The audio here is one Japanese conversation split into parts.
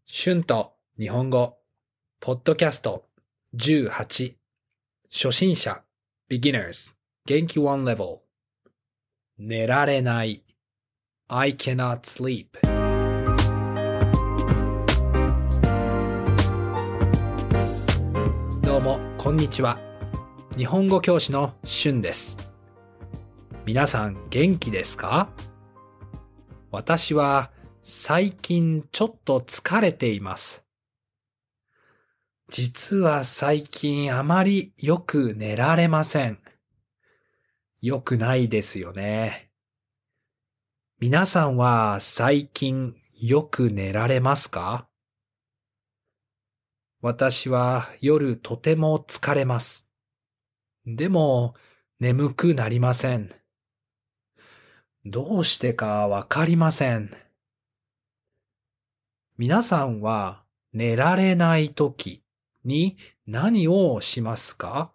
春と日本語、ポッドキャスト18、初心者、beginners、元気 one level、寝られない、I cannot sleep。どうも、こんにちは。日本語教師の春です。皆さん元気ですか？私は最近ちょっと疲れています。実は最近あまりよく寝られません。よくないですよね。皆さんは最近よく寝られますか？私は夜とても疲れます。でも眠くなりません。どうしてかわかりません。皆さんは寝られないときに何をしますか？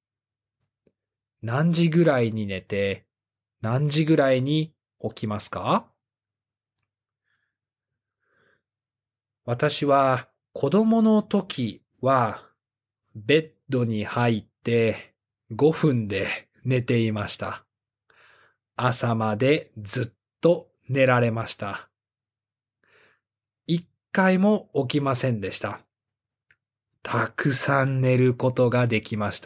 何時ぐらいに寝て何時ぐらいに起きますか？私は子供の時はベッドに入って5分で寝ていました。朝までずっと寝られました。一回も起きませんでした。たくさん寝ることができました。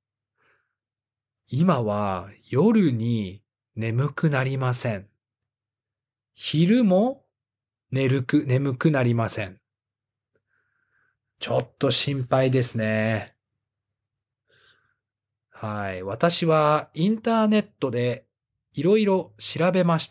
今は夜に眠くなりません。昼も眠くなりません。ちょっと心配ですね。はい。私はインターネットでいろいろ調べました。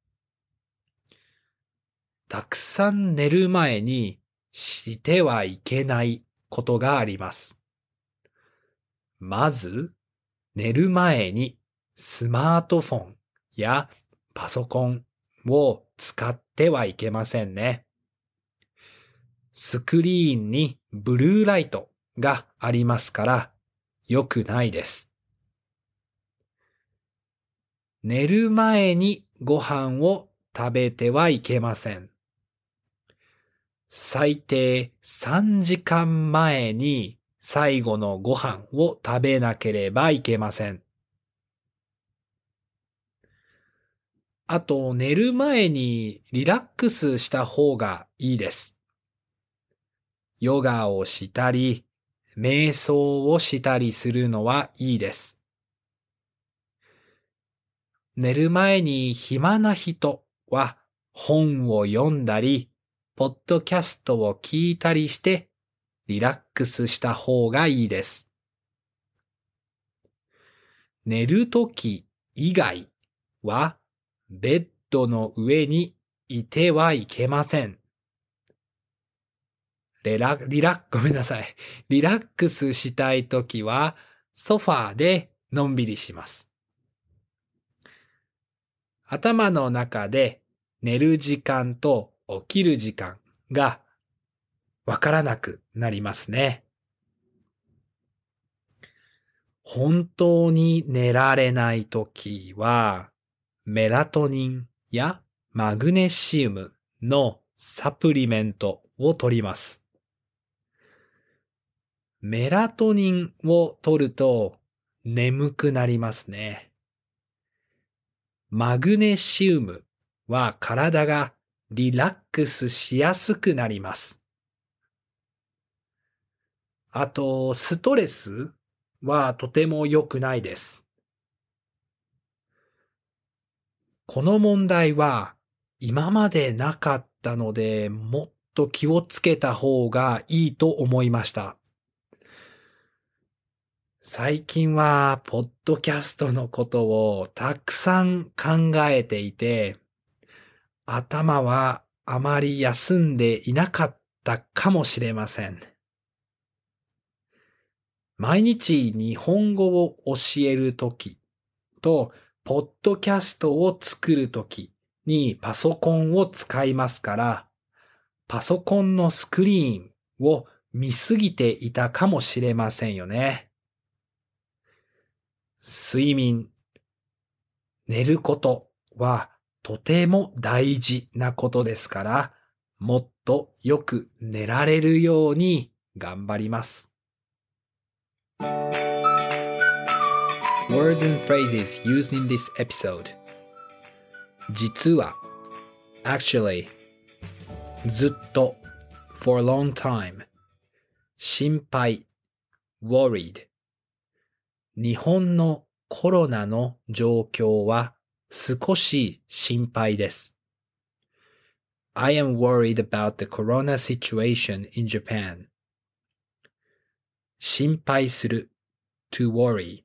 たくさん寝る前にしてはいけないことがあります。まず、寝る前にスマートフォンやパソコンを使ってはいけませんね。スクリーンにブルーライトがありますから良くないです。寝る前にご飯を食べてはいけません。最低3時間前に最後のご飯を食べなければいけません。あと、寝る前にリラックスした方がいいです。ヨガをしたり、瞑想をしたりするのはいいです。寝る前に暇な人は本を読んだり、ポッドキャストを聞いたりしてリラックスした方がいいです。寝るとき以外はベッドの上にいてはいけません。ごめんなさい。リラックスしたいときはソファーでのんびりします。頭の中で寝る時間と起きる時間がわからなくなりますね。本当に寝られないときは、メラトニンやマグネシウムのサプリメントを取ります。メラトニンを取ると眠くなりますね。マグネシウムは体がリラックスしやすくなります。あと、ストレスはとても良くないです。この問題は今までなかったので、もっと気をつけた方がいいと思いました。最近は、ポッドキャストのことをたくさん考えていて、頭はあまり休んでいなかったかもしれません。毎日日本語を教えるときと、ポッドキャストを作るときにパソコンを使いますから、パソコンのスクリーンを見すぎていたかもしれませんよね。睡眠、寝ることはとても大事なことですから、もっとよく寝られるように頑張ります。Words and phrases used in this episode. 実は actually ずっと for a long time 心配 worried 日本のコロナの状況は少し心配です。I am worried about the corona situation in Japan. 心配する to worry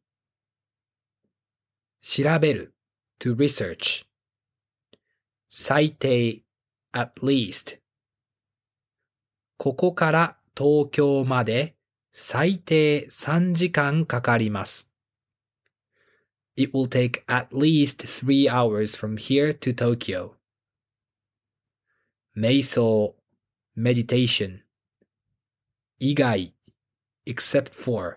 調べる to research 最低 at least ここから東京まで最低3時間かかります。It will take at least 3 hours from here to Tokyo. 瞑想 meditation 以外 except for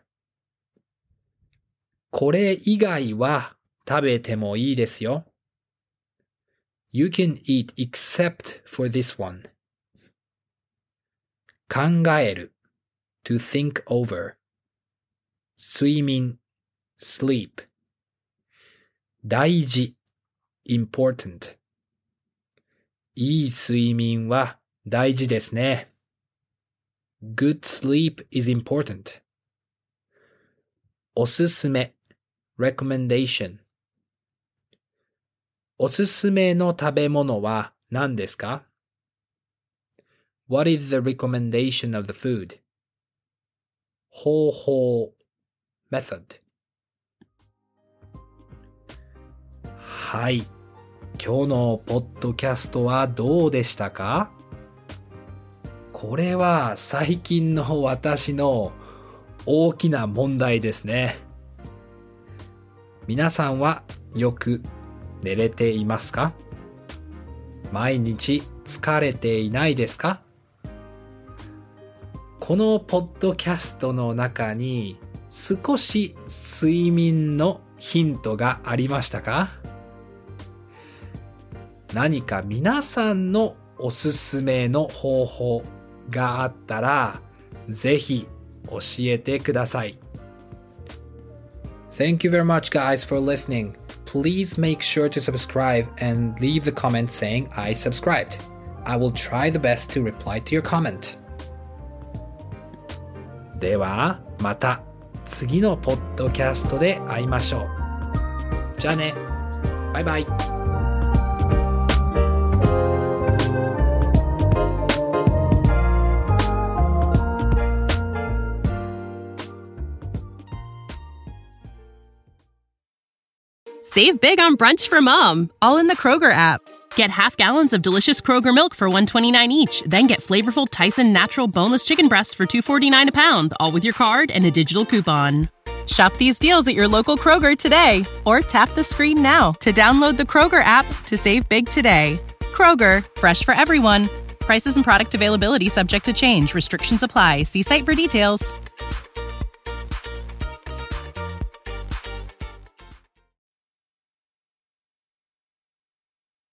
これ以外は食べてもいいですよ。You can eat except for this one. 考える to think over 睡眠 sleep 大事 important いい睡眠は大事ですね。Good sleep is important. おすすめ recommendation おすすめの食べ物は何ですか？ What is the recommendation of the food? 方法 method はい。今日のポッドキャストはどうでしたか？これは最近の私の大きな問題ですね。皆さんはよく寝れていますか？毎日疲れていないですか？このポッドキャストの中に少し睡眠のヒントがありましたか？何か皆さんのおすすめの方法があったらぜひ教えてください。Thank you very much guys for listening. Please make sure to subscribe and leave the comment saying I subscribed. I will try the best to reply to your comment. ではまた次のポッドキャストで会いましょう。じゃあね。バイバイ。 Save big on brunch for mom, all in the Kroger app. Get half gallons of delicious Kroger milk for $1.29 each. Then get flavorful Tyson natural boneless chicken breasts for $2.49 a pound, all with your card and a digital coupon. Shop these deals at your local Kroger today, or tap the screen now to download the Kroger app to save big today. Kroger, fresh for everyone. Prices and product availability subject to change. Restrictions apply. See site for details.